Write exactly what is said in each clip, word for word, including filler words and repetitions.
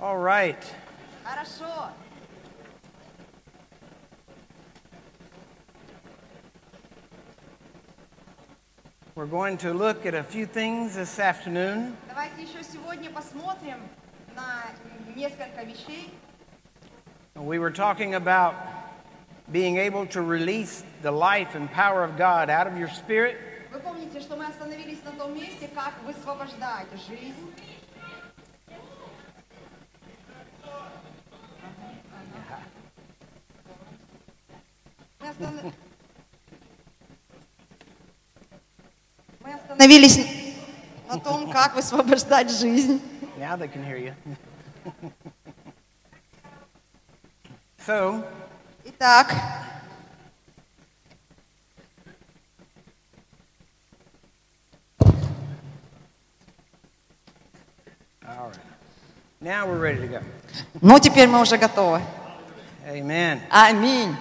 All right. Хорошо. We're going to look at a few things this afternoon. Давайте еще сегодня посмотрим на несколько вещей. We were talking about being able to release the life and power of God out of your spirit. Вы помните, что мы остановились на том месте, как высвобождать жизнь. Мы останов- Мы остановились на том, как высвобождать жизнь. Now they can hear you. So, Итак, all right. Now we're ready to go. ну теперь мы уже готовы. Amen. Аминь.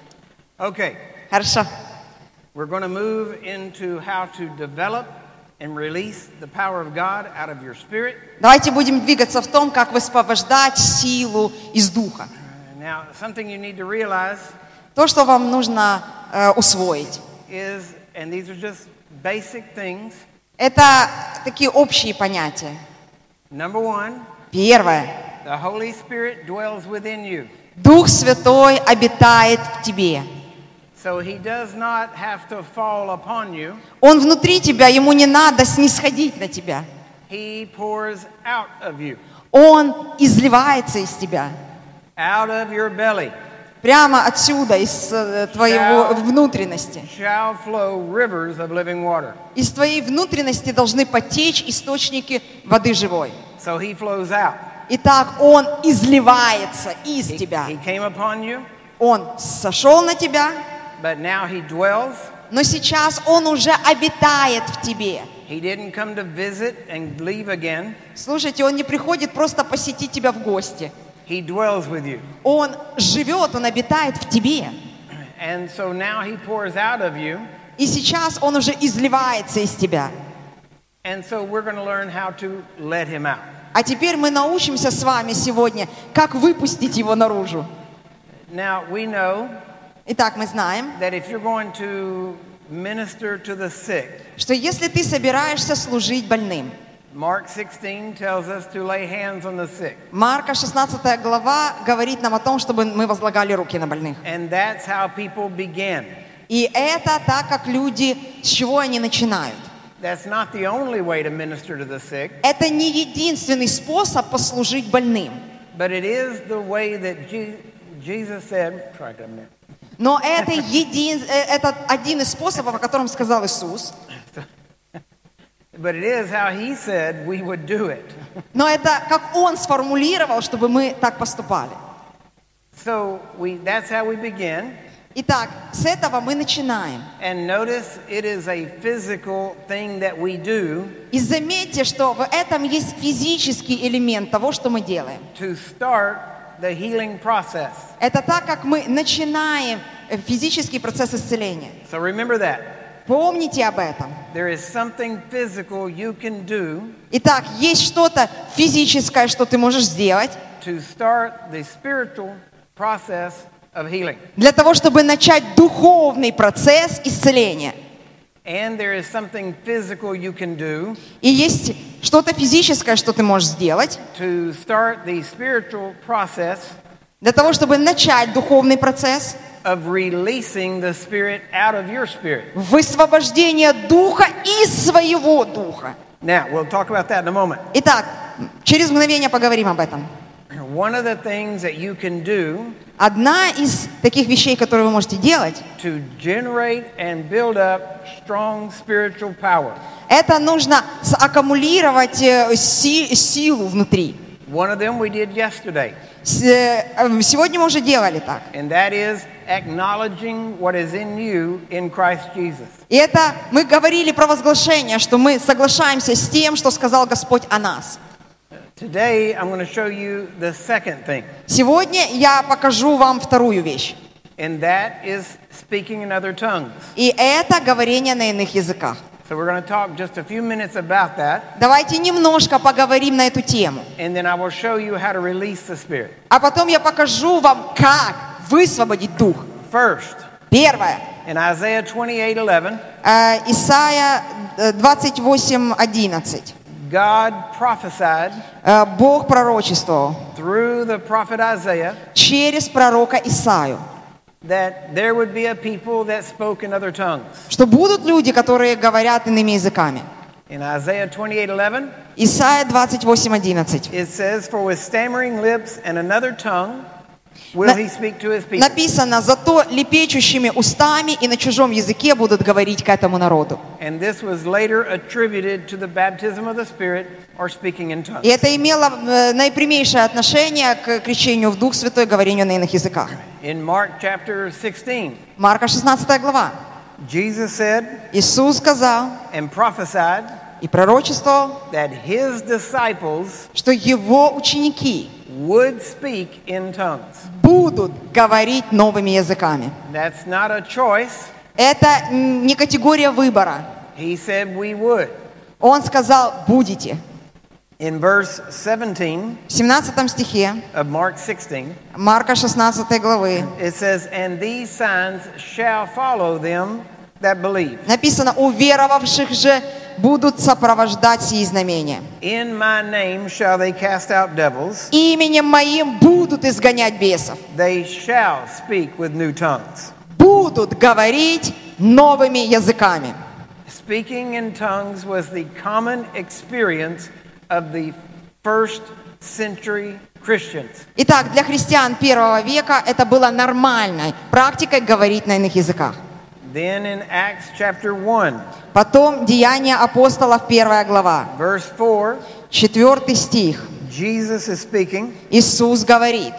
Okay. Хорошо. We're going to move into how to develop and release the power of God out of your spirit. Давайте будем двигаться в том, как высвобождать силу из духа. Now, something you need to realize То, что вам нужно э, усвоить, is, and these are just basic things. это такие общие понятия. Number one, Первое. the Holy Spirit dwells within you. Дух Святой обитает в тебе. So he does not have to fall upon you. Он внутри тебя, ему не надо снисходить на тебя. He pours out of you, Он изливается из тебя. out of your belly Прямо отсюда, из э, твоего внутренности. shall flow rivers of living water. Из твоей внутренности должны потечь источники воды живой. So he flows out. Итак, Он изливается из He, тебя. he came upon you, Он сошел на тебя, but now he dwells. но сейчас Он уже обитает в тебе. He didn't come to visit and leave again. Слушайте, Он не приходит просто посетить тебя в гости. He dwells with you. Он живет, Он обитает в тебе. And so now he pours out of you. И сейчас Он уже изливается из тебя. And so we're going to learn how to let him out. А теперь мы научимся с вами сегодня, как выпустить Его наружу. Now, we know Итак, мы знаем, that if you're going to minister to the sick, что если ты собираешься служить больным, Mark sixteen tells us to lay hands on the sick. Марка шестнадцатая глава говорит нам о том, чтобы мы возлагали руки на больных. And that's how people begin. И это так, как люди, с чего они начинают. That's not the only way to minister to the sick, Это не единственный способ послужить больным. but it is the way that Je- Jesus said, try it a minute. Но это, един, э, это один из способов, о котором сказал Иисус. But it is how he said we would do it. Но это как Он сформулировал, чтобы мы так поступали. So we, that's how we begin. Итак, с этого мы начинаем. And notice it is a physical thing that we do И заметьте, что в этом есть физический элемент того, что мы делаем. to start the healing process. Это так, как мы начинаем физический процесс исцеления. So remember that. Помните об этом. There is something physical you can do Итак, есть что-то физическое, что ты можешь сделать to start the spiritual process of healing. для того, чтобы начать духовный процесс исцеления. And there is something physical you can do И есть что-то физическое, что ты можешь сделать to start the spiritual process для того, чтобы начать духовный процесс of releasing the spirit out of your spirit. высвобождения духа из своего духа. Now, we'll talk about that in a moment. Итак, через мгновение поговорим об этом. One of the things that you can do Одна из таких вещей, которые вы можете делать, to generate and build up strong spiritual power. это нужно аккумулировать э, си- силу внутри. One of them we did yesterday, С- э, Сегодня мы уже делали так. and that is acknowledging what is in you in Christ Jesus. И это мы говорили про возглашение, что мы соглашаемся с тем, что сказал Господь о нас. Today, I'm going to show you the second thing, Сегодня я покажу вам вторую вещь. and that is speaking in other tongues. И это говорение на иных языках. So we're going to talk just a few minutes about that, Давайте немножко поговорим на эту тему. and then I will show you how to release the Spirit. А потом я покажу вам, как высвободить Дух. First, Первое. in Isaiah twenty-eight eleven, Э, Исайя э, двадцать восемь одиннадцать. God prophesied Э, Бог пророчествовал through the prophet Isaiah через пророка Исаю, that there would be a people that spoke in other tongues. что будут люди, которые говорят иными языками. In Isaiah twenty-eight eleven, Исайя двадцать восемь одиннадцать. it says, "For with stammering lips and another tongue will На- he speak to his people." Написано: «Зато лепечущими устами и на чужом языке будут говорить к этому народу». And this was later attributed to the baptism of the Spirit or speaking in tongues. И это имело э, наипрямейшее отношение к крещению в Дух Святой, говорению на иных языках. In Mark chapter sixteen, Марка шестнадцатая глава. Jesus said Иисус сказал and prophesied и пророчествовал, that his disciples что его ученики would speak in tongues. будут говорить новыми языками. That's not a choice. Это м, не категория выбора. He said we would. Он сказал: будете. In verse seventeen В семнадцатом стихе of Mark sixteen, Марка шестнадцатой главы it says, "And these signs shall follow them that believe. написано: «У веровавших же будут сопровождать сии знамения. In my name shall they cast out devils. Именем моим будут изгонять бесов, They shall speak with new tongues." будут говорить новыми языками». Speaking in tongues was the common experience of the first century Christians. Итак, для христиан первого века это было нормальной практикой говорить на иных языках. Then in Acts chapter one, Потом Деяния апостолов, первая глава, verse four, четвертый стих. Jesus is speaking, Иисус говорит,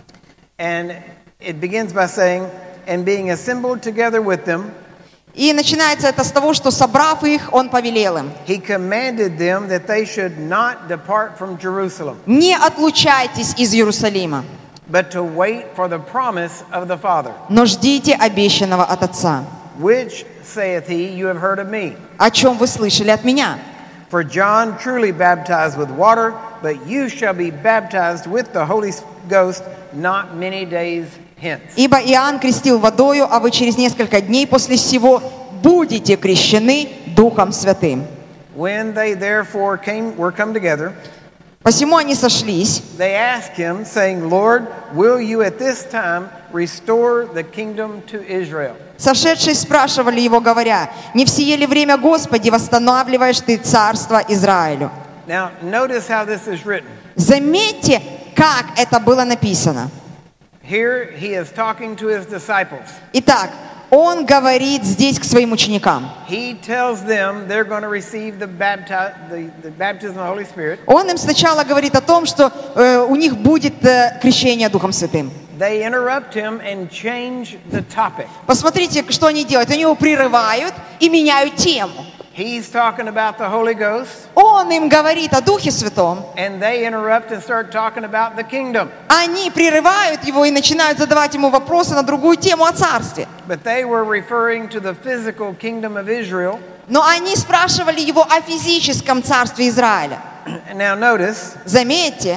and it begins by saying, "And being assembled together with them, и начинается это с того, что, собрав их, Он повелел им: he commanded them that they should not depart from Jerusalem, «Не отлучайтесь из Иерусалима, but to wait for the promise of the Father, но ждите обещанного от Отца, which, saith he, you have heard of me. о чем вы слышали от Меня. For John truly baptized with water, but you shall be baptized with the Holy Ghost not many days hence." Ибо Иоанн крестил водою, а вы через несколько дней после сего будете крещены Духом Святым». When they therefore came, were come together, Посему они сошлись, they asked him, saying, "Lord, will you at this time restore the kingdom to Israel?" сошедшие спрашивали его, говоря: «Не в сие ли время, Господи, восстанавливаешь Ты царство Израилю?» Now, notice how this is written. Заметьте, как это было написано. Here he is talking to his disciples. Итак, Он говорит здесь к своим ученикам. He tells them they're going to receive the, bapti- the, the baptism of the Holy Spirit. Он им сначала говорит о том, что э, у них будет э, крещение Духом Святым. They interrupt him and change the topic. Посмотрите, что они делают. Они его прерывают и меняют тему. He's talking about the Holy Ghost, Он им говорит о Духе Святом. and they interrupt and start talking about the kingdom. Они прерывают его и начинают задавать ему вопросы на другую тему о царстве. But they were referring to the physical kingdom of Israel. Но они спрашивали его о физическом царстве Израиля. And now notice, Заметьте,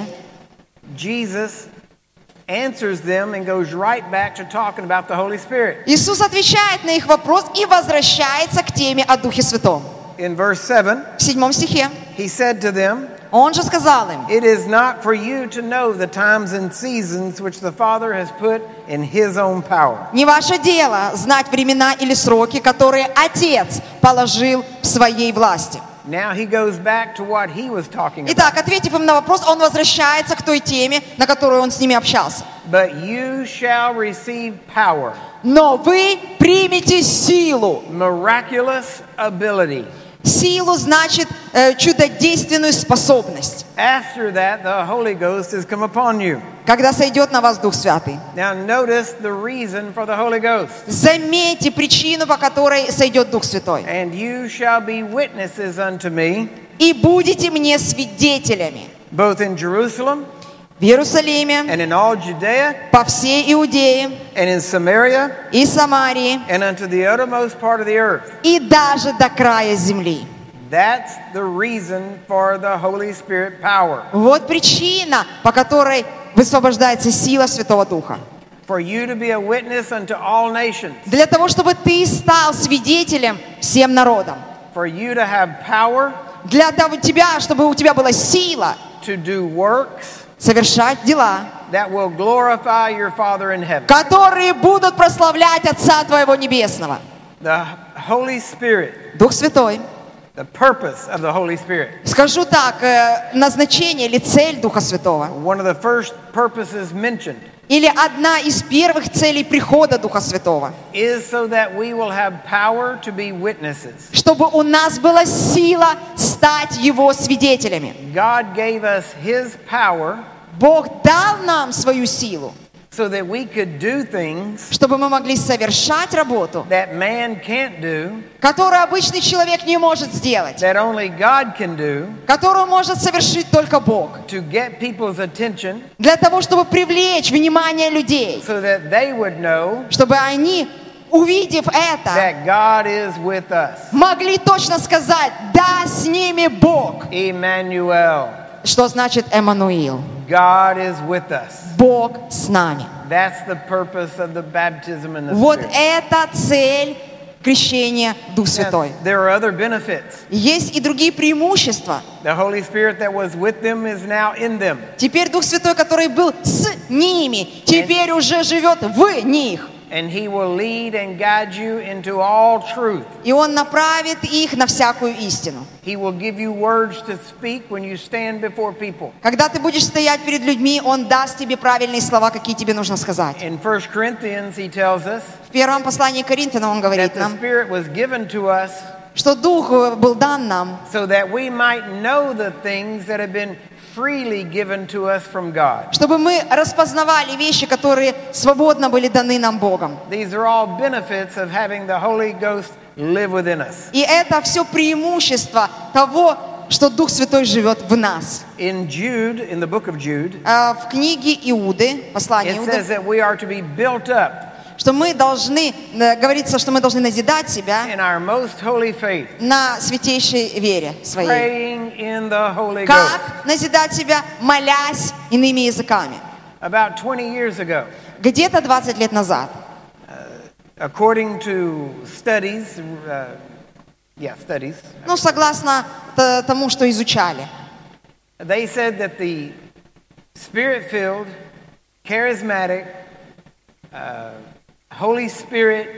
Jesus answers them and goes right back to talking about the Holy Spirit. Иисус отвечает на их вопрос и возвращается к теме о Духе Святом. In verse seven, В седьмом стихе he said to them, Он же сказал им: "It is not for you to know the times and seasons which the Father has put in his own power." «Не ваше дело знать времена или сроки, которые Отец положил в своей власти». Now he goes back to what he was talking about. Итак, ответив им на вопрос, Он возвращается к той теме, на которую Он с ними общался. "But you shall receive power, «Но вы примете силу». miraculous ability. Силу значит э, чудодейственную способность, After that, the Holy Ghost has come upon you." когда сойдет на вас Дух Святый. Now notice the reason for the Holy Ghost. Заметьте причину, по которой сойдет Дух Святой. "And you shall be witnesses unto me, «И будете мне свидетелями both in Jerusalem в Иерусалиме, and in all Judea, по всей Иудее and in Samaria, и Самарии, and unto the uttermost part of the earth. и даже до края земли. That's the reason for the Holy Spirit power. Вот причина, по которой высвобождается сила Святого Духа. For you to be a witness unto all nations. Для того, чтобы ты стал свидетелем всем народам. For you to have power. Для того, тебя, чтобы у тебя была сила To do works. Совершать дела, That will glorify your Father in heaven. которые будут прославлять Отца Твоего Небесного. The Holy Spirit. Дух Святой. The purpose of the Holy Spirit. Скажу так, назначение или цель Духа Святого. One of the first purposes mentioned. Или одна из первых целей прихода Духа Святого. Is so that we will have power to be witnesses. Чтобы у нас была сила стать Его свидетелями. God gave us His power. Бог дал нам свою силу. So that we could do things чтобы мы могли совершать работу, that man can't do, которую обычный человек не может сделать, that only God can do, которую может совершить только Бог, to get people's attention, для того, чтобы привлечь внимание людей, so that they would know чтобы они, увидев это, that God is with us. могли точно сказать: да, с ними Бог. Emmanuel. Что значит Эммануил? God is with us. Бог с нами. That's the purpose of the baptism in the Вот Spirit. это цель крещения Дух Святой. Now, there are other benefits. Есть и другие преимущества. The Holy Spirit that was with them is now in them. Теперь Дух Святой, который был с ними, теперь уже живет в них. And He will lead and guide you into all truth. И Он направит их на всякую истину. He will give you words to speak when you stand before people. Когда ты будешь стоять перед людьми, Он даст тебе правильные слова, какие тебе нужно сказать. In First Corinthians, He tells us В первом послании к Коринфянам Он that говорит the нам, Spirit was given to us что Дух был дан нам, so that we might know the things that have been freely given to us from God. чтобы мы распознавали вещи, которые свободно были даны нам Богом. These are all benefits of having the Holy Ghost live within us. И это все преимущество того, что Дух Святой живет в нас. In Jude, in the book of Jude, А В книге Иуды, послание it says Иуды, that we are to be built up что мы должны, э, говорится, что мы должны назидать себя in our most holy faith, на святейшей вере своей. praying in the Holy Ghost. Как назидать себя, молясь иными языками? About twenty years ago, Где-то двадцать лет назад, according to studies, uh, yeah, studies, ну, согласно т- тому, что изучали, they said that the Spirit-filled, charismatic, uh, Holy Spirit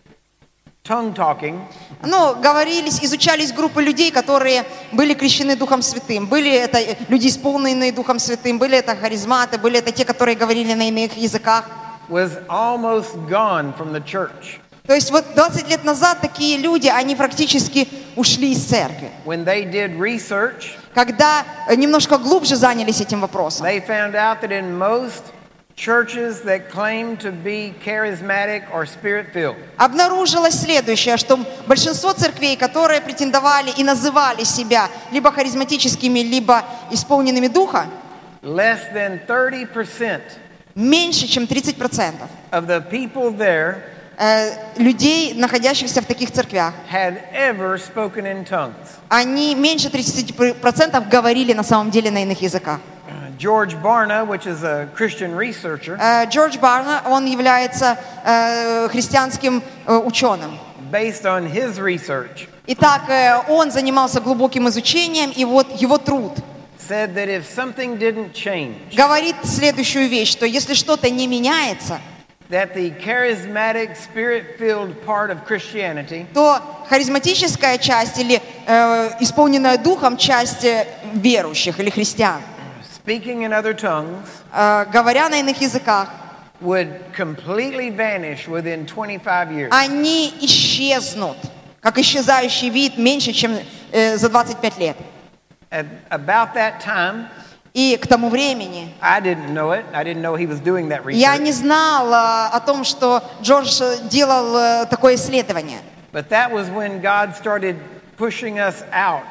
tongue-talking ну, говорились, изучались группы людей, которые были крещены Духом Святым. Были это люди, исполненные Духом Святым, были это харизматы, были это те, которые говорили на иных языках. was almost gone from the church. То есть вот двадцать лет назад такие люди, они практически ушли из церкви. When they did research, Когда немножко глубже занялись этим вопросом, they found out that in most churches that claim to be charismatic or spirit-filled, обнаружилось следующее, что большинство церквей, которые претендовали и называли себя либо харизматическими, либо исполненными Духа, less than thirty percent меньше, чем тридцать процентов of the people there э, людей, находящихся в таких церквях, had ever spoken in tongues. они меньше тридцати процентов говорили на самом деле на иных языках. George Barna, which is a Christian researcher, Э, Джордж Барна, он является э, христианским э, ученым. based on his research, Итак, э, он занимался глубоким изучением, и вот его труд said that if something didn't change, говорит следующую вещь, что если что-то не меняется, that the charismatic, spirit-filled part of Christianity то харизматическая часть или э, исполненная Духом часть э, верующих или христиан, speaking in other tongues э, говоря на иных языках, would completely vanish within twenty-five years. они исчезнут, как исчезающий вид, меньше, чем э, за двадцать пять лет. At about that time, И к тому времени I didn't know it. I didn't know he was doing that я research. не знала о том, что Джордж делал э, такое исследование. But that was when God started pushing us out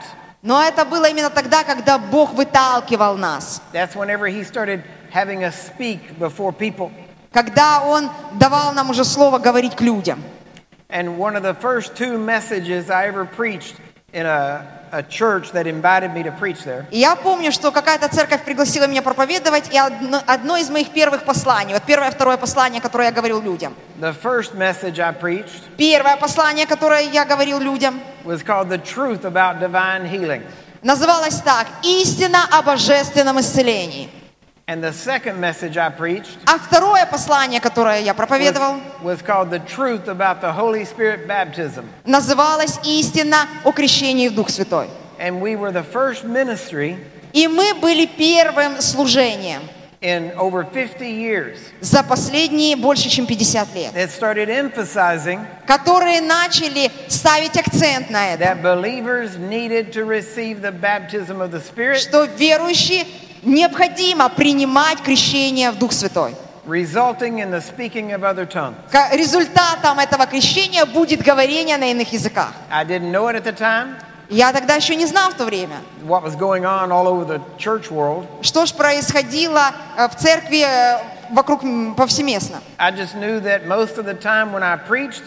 Но это было именно тогда, когда Бог выталкивал нас. That's whenever he started having us speak before people. Когда Он давал нам уже слово говорить к людям. And one of the first two messages I ever preached in a, a church that invited me to preach there. И я помню, что какая-то церковь пригласила меня проповедовать, и одно, одно из моих первых посланий, вот первое, второе послание, которое я говорил людям. The first message I preached Первое послание, которое я говорил людям, was called The Truth About Divine Healing. называлось так: «Истина о божественном исцелении». And the second message I preached А второе послание, которое я was, проповедовал, was called The Truth About the Holy Spirit Baptism. называлось «Истина о крещении в Дух Святой». And we were the first ministry И мы были первым служением in over fifty years за последние больше, чем пятьдесят лет, that started emphasizing которые начали ставить акцент на это, that believers needed to receive the baptism of the Spirit, что верующие необходимо принимать крещение в Дух Святой. resulting in the speaking of other tongues. Ка- Результатом этого крещения будет говорение на иных языках. I didn't know it at the time, Я тогда еще не знал в то время, what was going on all over the church world. что ж происходило э, в церкви э, вокруг м, повсеместно. I just knew that most of the time when I preached,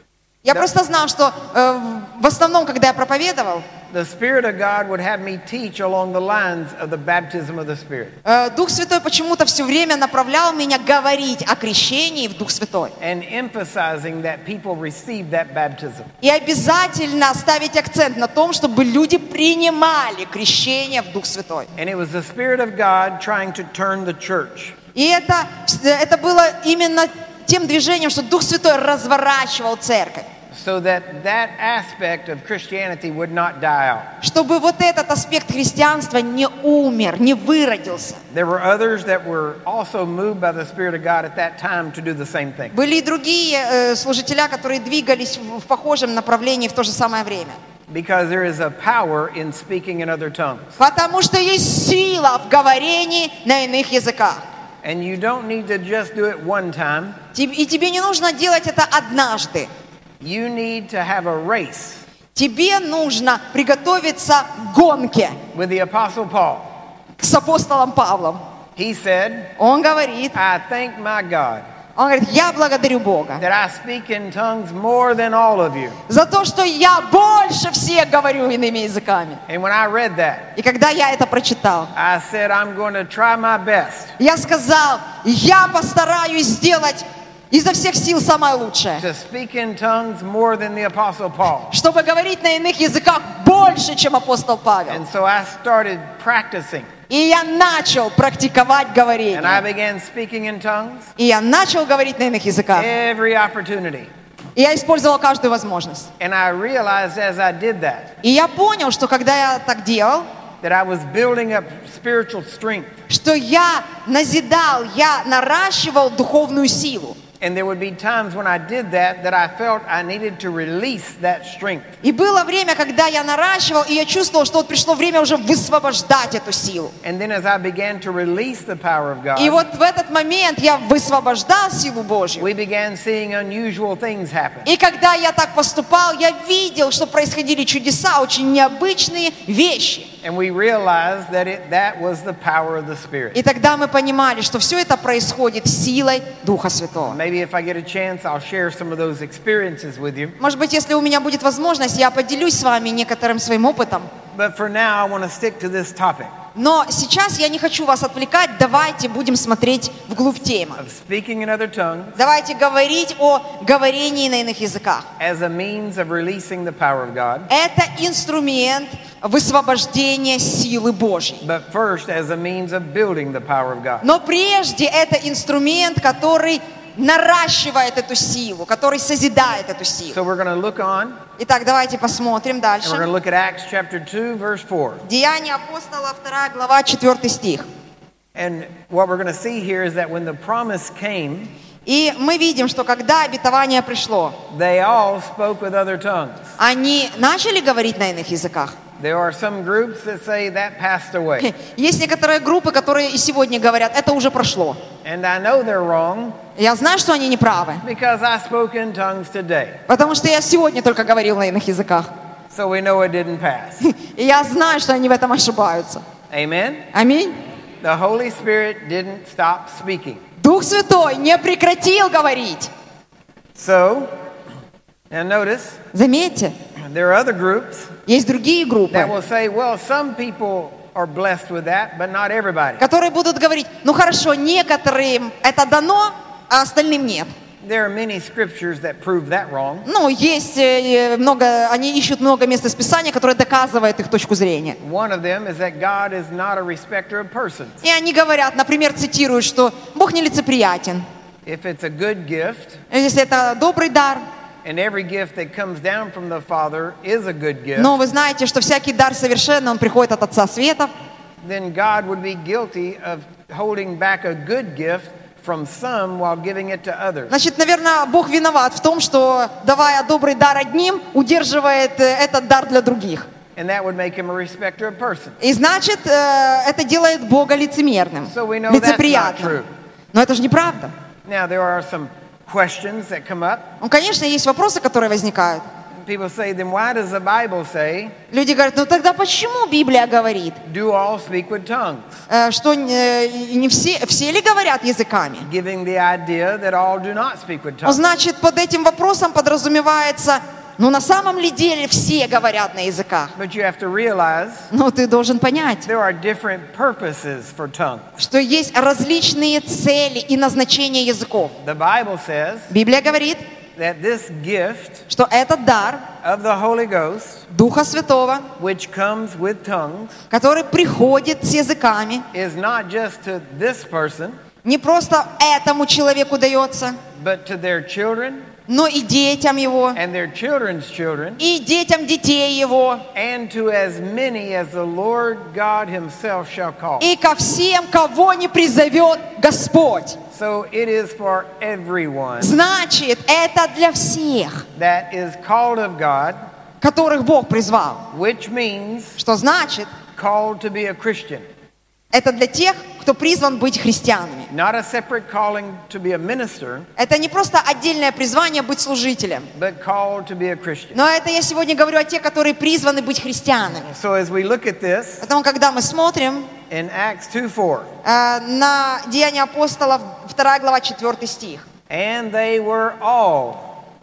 Я Да. просто знал, что э, в основном, когда я проповедовал, the Spirit of God would have me teach along the lines of the baptism of the Spirit. э, Дух Святой почему-то все время направлял меня говорить о крещении в Дух Святой. And emphasizing that people receive that baptism. И обязательно ставить акцент на том, чтобы люди принимали крещение в Дух Святой. And it was the Spirit of God trying to turn the church. И это, это было именно тем движением, что Дух Святой разворачивал церковь, So that that aspect of Christianity would not die out. чтобы вот этот аспект христианства не умер, не выродился. There were others that were also moved by the Spirit of God at that time to do the same thing. Были и другие э, служителя, которые двигались в, в похожем направлении в то же самое время. Because there is a power in speaking in other tongues. Потому что есть сила в говорении на иных языках. And you don't need to just do it one time. Теб- И тебе не нужно делать это однажды. You need to have a race Тебе нужно приготовиться к гонке with the Apostle Paul. с апостолом Павлом. He said, Он говорит, I thank my God он говорит, я благодарю Бога that I speak in tongues more than all of you. за то, что я больше всех говорю иными языками. And when I read that, И когда я это прочитал, I said, I'm going to try my best я сказал, я постараюсь сделать изо всех сил самое лучшее, to speak in tongues more than the Apostle Paul. чтобы говорить на иных языках больше, чем апостол Павел. And so I started practicing. И я начал практиковать And I говорение. began speaking in tongues И я начал говорить на иных языках. every opportunity. И я использовал каждую возможность. And I realized as I did that, И я понял, что когда я так делал, that I was building up spiritual strength. что я назидал, я наращивал духовную силу. And there would be times when I did that that I felt I needed to release that strength. И было время, когда я наращивал, и я чувствовал, что вот пришло время уже высвобождать эту силу. And then as I began to release the power of И God, вот в этот момент я высвобождал силу Божью. we began seeing unusual things happen. И когда я так поступал, я видел, что происходили чудеса, очень необычные вещи. And we realized that it, that was the power of the Spirit. И тогда мы понимали, что все это происходит силой Духа Святого. Maybe if I get a chance, I'll share some of those experiences with you. Может быть, если у меня будет возможность, я поделюсь с вами некоторым своим опытом. But for now, I want to stick to this topic Но сейчас я не хочу вас отвлекать. Давайте будем смотреть вглубь темы. of speaking in other tongues Давайте говорить о говорении на иных языках. as a means of releasing the power of God, Это инструмент высвобождения силы Божьей. but first as a means of building the power of God. Но прежде это инструмент, который наращивает эту силу, который созидает эту силу. So we're going to look on, Итак, давайте посмотрим and we're going дальше. to look at Acts chapter two, verse four. Деяния апостола, вторая глава, четвёртый стих. And what we're going to see here is that when the promise came, И мы видим, что когда обетование пришло, they all spoke with other tongues. они начали говорить на иных языках. There are some groups that say that passed away. Есть некоторые группы, которые и сегодня говорят, это уже прошло. And I know they're wrong Я знаю, что они не правы, because I spoke in tongues today. потому что я сегодня только говорил на иных языках. So we know it didn't pass. И я знаю, что они в этом ошибаются. Amen? Аминь. The Holy Spirit didn't stop speaking. Дух Святой не прекратил говорить. So, now notice, Заметьте, there are other groups есть другие группы, that will say, well, some people are blessed with that, but not everybody. которые будут говорить, ну хорошо, некоторым это дано, а остальным нет. There are many scriptures that prove that wrong. Ну, есть э, много, они ищут много мест из Писания, которые доказывают их точку зрения. One of them is that God is not a respecter of persons. И они говорят, например, цитируют, что Бог нелицеприятен. If it's a good gift, Если это добрый дар, and every gift that comes down from the Father is a good gift, но вы знаете, что всякий дар совершенный, он приходит от Отца Светов, then God would be guilty of holding back a good gift from some while giving it to others. значит, наверное, Бог виноват в том, что, давая добрый дар одним, удерживает э, этот дар для других. And that would make him a respecter of persons. И значит, э, это делает Бога лицемерным, So we know that's not лицеприятным. true. Но это же неправда. Now, there are some questions that come up. Ну, конечно, есть вопросы, которые возникают. People say, then why does the Bible say, Люди говорят, ну тогда почему Библия говорит, do all speak with tongues? э, что э, не все, все ли говорят языками? Giving the idea that all do not speak with Ну, tongues. значит, под этим вопросом подразумевается, ну на самом ли деле все говорят на языках? But you have to realize Ну, ты должен понять, there are different purposes for tongues. что есть различные цели и назначения языков. The Bible says Библия говорит, that this gift что этот дар of the Holy Ghost, Духа Святого, which comes with tongues, который приходит с языками, is not just to this person, не просто этому человеку дается, but to their children но и детям его, and their children's children, и детям детей его, and to as many as the Lord God himself shall call. и ко всем, кого не призовет Господь. So it is for everyone Значит, это для всех, that is called of God, которых Бог призвал. which means Что значит, called to be a Christian. это для тех, кто призван быть христианами. Not a separate calling to be a minister, Это не просто отдельное призвание быть служителем, but called to be a Christian. но это я сегодня говорю о тех, которые призваны быть христианами. So as we look at this Поэтому, когда мы смотрим in Acts two four, э, на Деяния апостолов, вторая глава, четвёртый стих. and they were all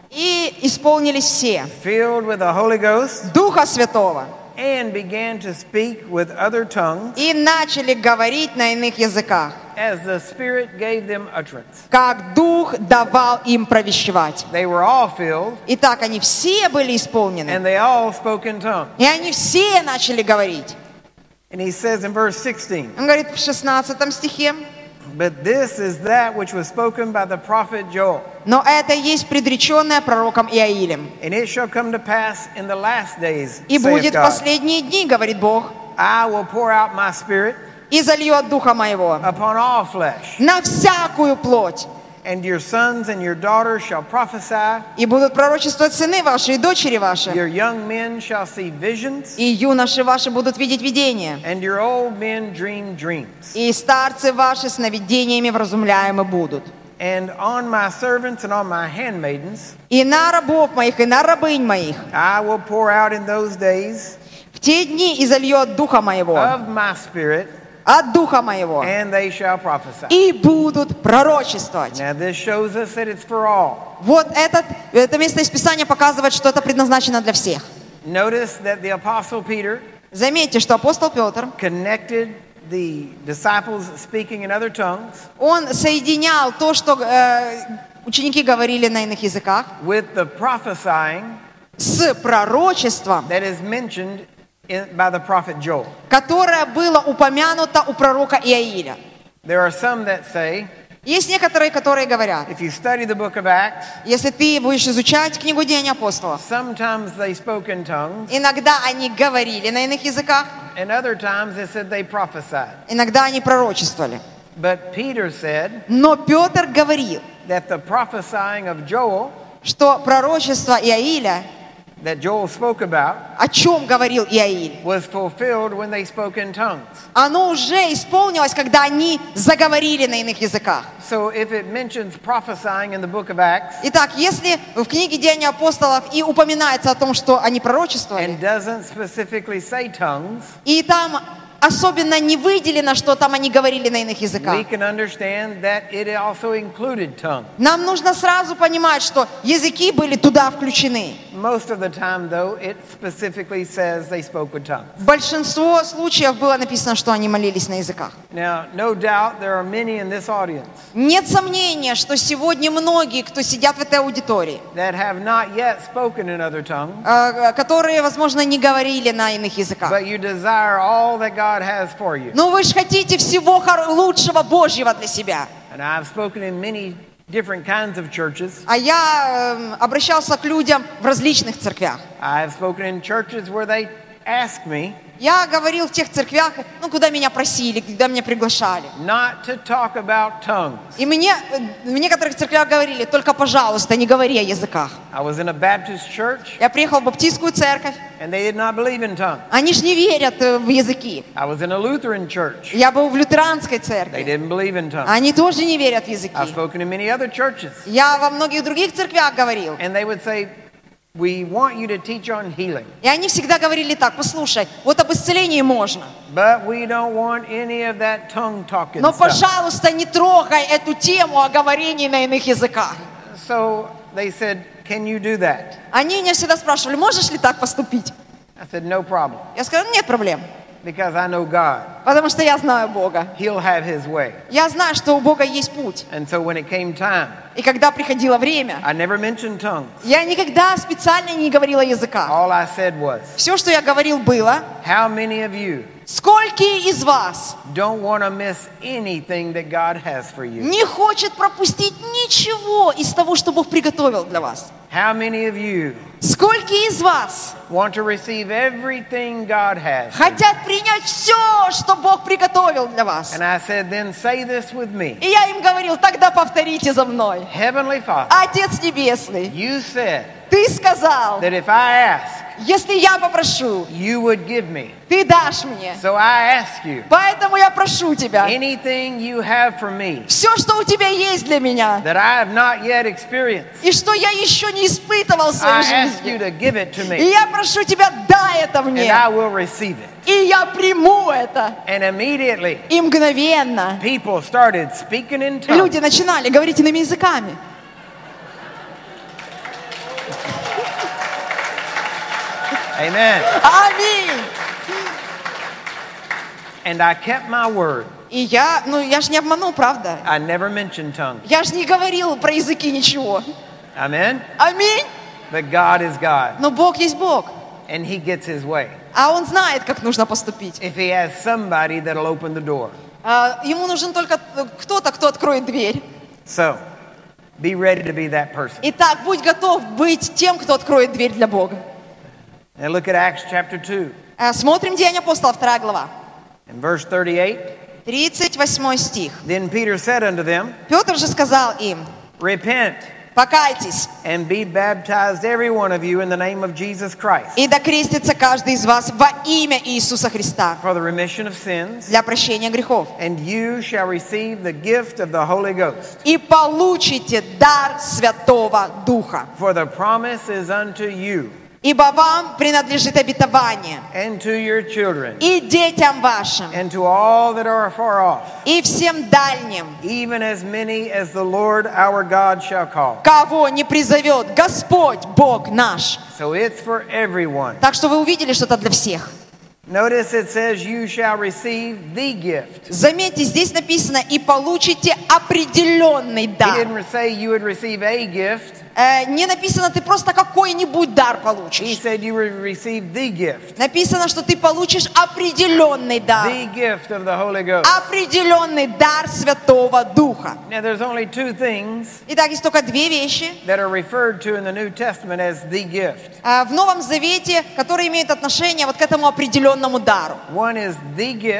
И исполнились все filled with the Holy Ghost Духа Святого and began to speak with other tongues и начали говорить на иных языках, as the Spirit gave them utterance. как Дух давал им провещевать. They were all filled Итак, они все были исполнены, and they all spoke in tongues. и они все начали говорить. And he says in verse sixteen, Он говорит в шестнадцатом стихе, but this is that which was spoken by the prophet Joel. но это есть предреченное пророком Иаилем. And it shall come to pass in the last days, И saith будет в God, последние дни, говорит Бог, I will pour out my spirit и зальет Духа Моего upon all flesh, на всякую плоть. and your sons and your daughters shall prophesy, И будут пророчествовать сыны ваши и дочери ваши, your young men shall see visions, и юноши ваши будут видеть видения, and your old men dream dreams. и старцы ваши сновидениями вразумляемы будут. And on my servants and on my handmaidens И на рабов моих, и на рабынь моих I will pour out in those days в те дни и зальет Духа Моего, of my spirit, от Духа Моего, and they shall prophesy. и будут пророчествовать. Now this shows us that it's for all. Вот этот, это место из Писания показывает, что это предназначено для всех. Notice that the apostle Peter Заметьте, что апостол Петр, connected the disciples speaking in other tongues он соединял то, что э, ученики говорили на иных языках, with the prophesying с пророчеством, that is mentioned in, by the prophet Joel. которое было упомянуто у пророка Иаиля. There are some that say, Есть некоторые, которые говорят, if you study the book of Acts, если ты будешь изучать книгу Деяний апостолов, sometimes they spoke in tongues, иногда они говорили на иных языках, and other times it said they prophesied. иногда они пророчествовали. But Peter said Но Петр говорил, that the prophesying of Joel что пророчество Иаиля that Joel spoke about о чем говорил Иаиль, was fulfilled when they spoke in tongues. оно уже исполнилось, когда они заговорили на иных языках. So if it mentions prophesying in the book of Acts Итак, если в книге Деяний апостолов и упоминается о том, что они пророчествовали, and doesn't specifically say tongues, и там особенно не выделено, что там они говорили на иных языках, we can understand that it also included tongues. нам нужно сразу понимать, что языки были туда включены. Most of the time, though, it specifically says they spoke with tongues. Большинство случаев было написано, что они молились на языках. Now, no doubt there are many in this audience Нет сомнения, что сегодня многие, кто сидят в этой аудитории, that have not yet spoken in other tongues, э, которые, возможно, не говорили на иных языках. but you desire all that God has for you. Но вы же хотите всего хор- лучшего Божьего для себя. And I've spoken in many different kinds of churches. А я э, обращался к людям в различных церквях. I've spoken in churches where they ask me Я говорил в тех церквях, ну, куда меня просили, куда меня приглашали. not to talk about tongues. И мне э, в некоторых церквях говорили: только, пожалуйста, не говори о языках. I was in a Baptist church Я приехал в баптистскую церковь. and they did not believe in tongues. Они ж не верят э, в языки. I was in a Lutheran church. Я был в лютеранской They церкви. didn't believe in tongues. Они тоже не верят в языки. I've spoken in many other churches Я во многих других церквях говорил. and they would say, we want you to teach on healing, И они всегда говорили так: послушай, вот об исцелении можно, but we don't want any of that tongue talking но, stuff. пожалуйста, не трогай эту тему о говорении на иных языках. So they said, can you do that? Они меня всегда спрашивали: можешь ли так поступить? I said, no problem, Я сказала: нет проблем, because I know God. потому что я знаю Бога. He'll have his way. Я знаю, что у Бога есть путь. And so when it came time, И когда приходило время, I never mentioned tongues. я никогда специально не говорила о языках. All I said was, Все, что я говорил, было: how many of you сколько из вас don't want to miss anything that God has for you? не хочет пропустить ничего из того, что Бог приготовил для вас? How many of you Сколько из вас want to receive everything God has for you? хотят принять все, что Бог приготовил для вас? And I said, then say this with me. И я им говорил: тогда повторите за мной. Heavenly Father, Отец Небесный, you said Ты сказал, that if I ask, если я попрошу, you would give me. Ты дашь мне. So I ask you, Поэтому я прошу Тебя, anything you have for me все, что у Тебя есть для меня, that I have not yet experienced, и что я еще не испытывал в своей I ask you жизни. to give it to И me, я прошу Тебя, дай это and мне. I will receive it. И я приму это. And immediately, И мгновенно people started speaking in tongues. люди начинали говорить иными языками. Amen. Аминь. And I kept my word. И я, ну я же не обманул, правда? I never mentioned tongues. Я же не говорил про языки ничего. Amen. Аминь. But God is God, Но Бог есть Бог. and He gets His way. А Он знает, как нужно поступить. If He has somebody that'll open the door. А, Ему нужен только кто-то, кто откроет дверь. So, be ready to be that person. Итак, будь готов быть тем, кто откроет дверь для Бога. Now look at Acts chapter two, А, Смотрим Деяния апостолов, вторая глава, in verse thirty-eight. тридцать восьмой стих. Then Peter said unto them, Петр же сказал им: repent покайтесь, and be baptized every one of you in the name of Jesus Christ и докрестится каждый из вас во имя Иисуса Христа for the remission of sins, для прощения грехов. and you shall receive the gift of the Holy Ghost. И получите дар Святого Духа. For the promise is unto you Ибо вам принадлежит обетование, and to your children и детям вашим, and to all that are afar off, и всем дальним, even as many as the Lord our God shall call. кого не призовет Господь Бог наш. So it's for everyone. Так что вы увидели, что это для всех. Notice it says you shall receive the gift. Заметьте, здесь написано: и получите определенный He дар. didn't say you would receive a gift. Э, не написано, ты просто какой-нибудь дар He получишь. said you would receive the gift. Написано, что ты получишь определенный дар. The gift of the Holy Ghost. Определенный дар Святого Духа. Now there's only two things Итак, есть только две вещи that are referred to in the New Testament as the gift. э, в Новом Завете, которые имеют отношение вот к этому определенному дару. One is the gift,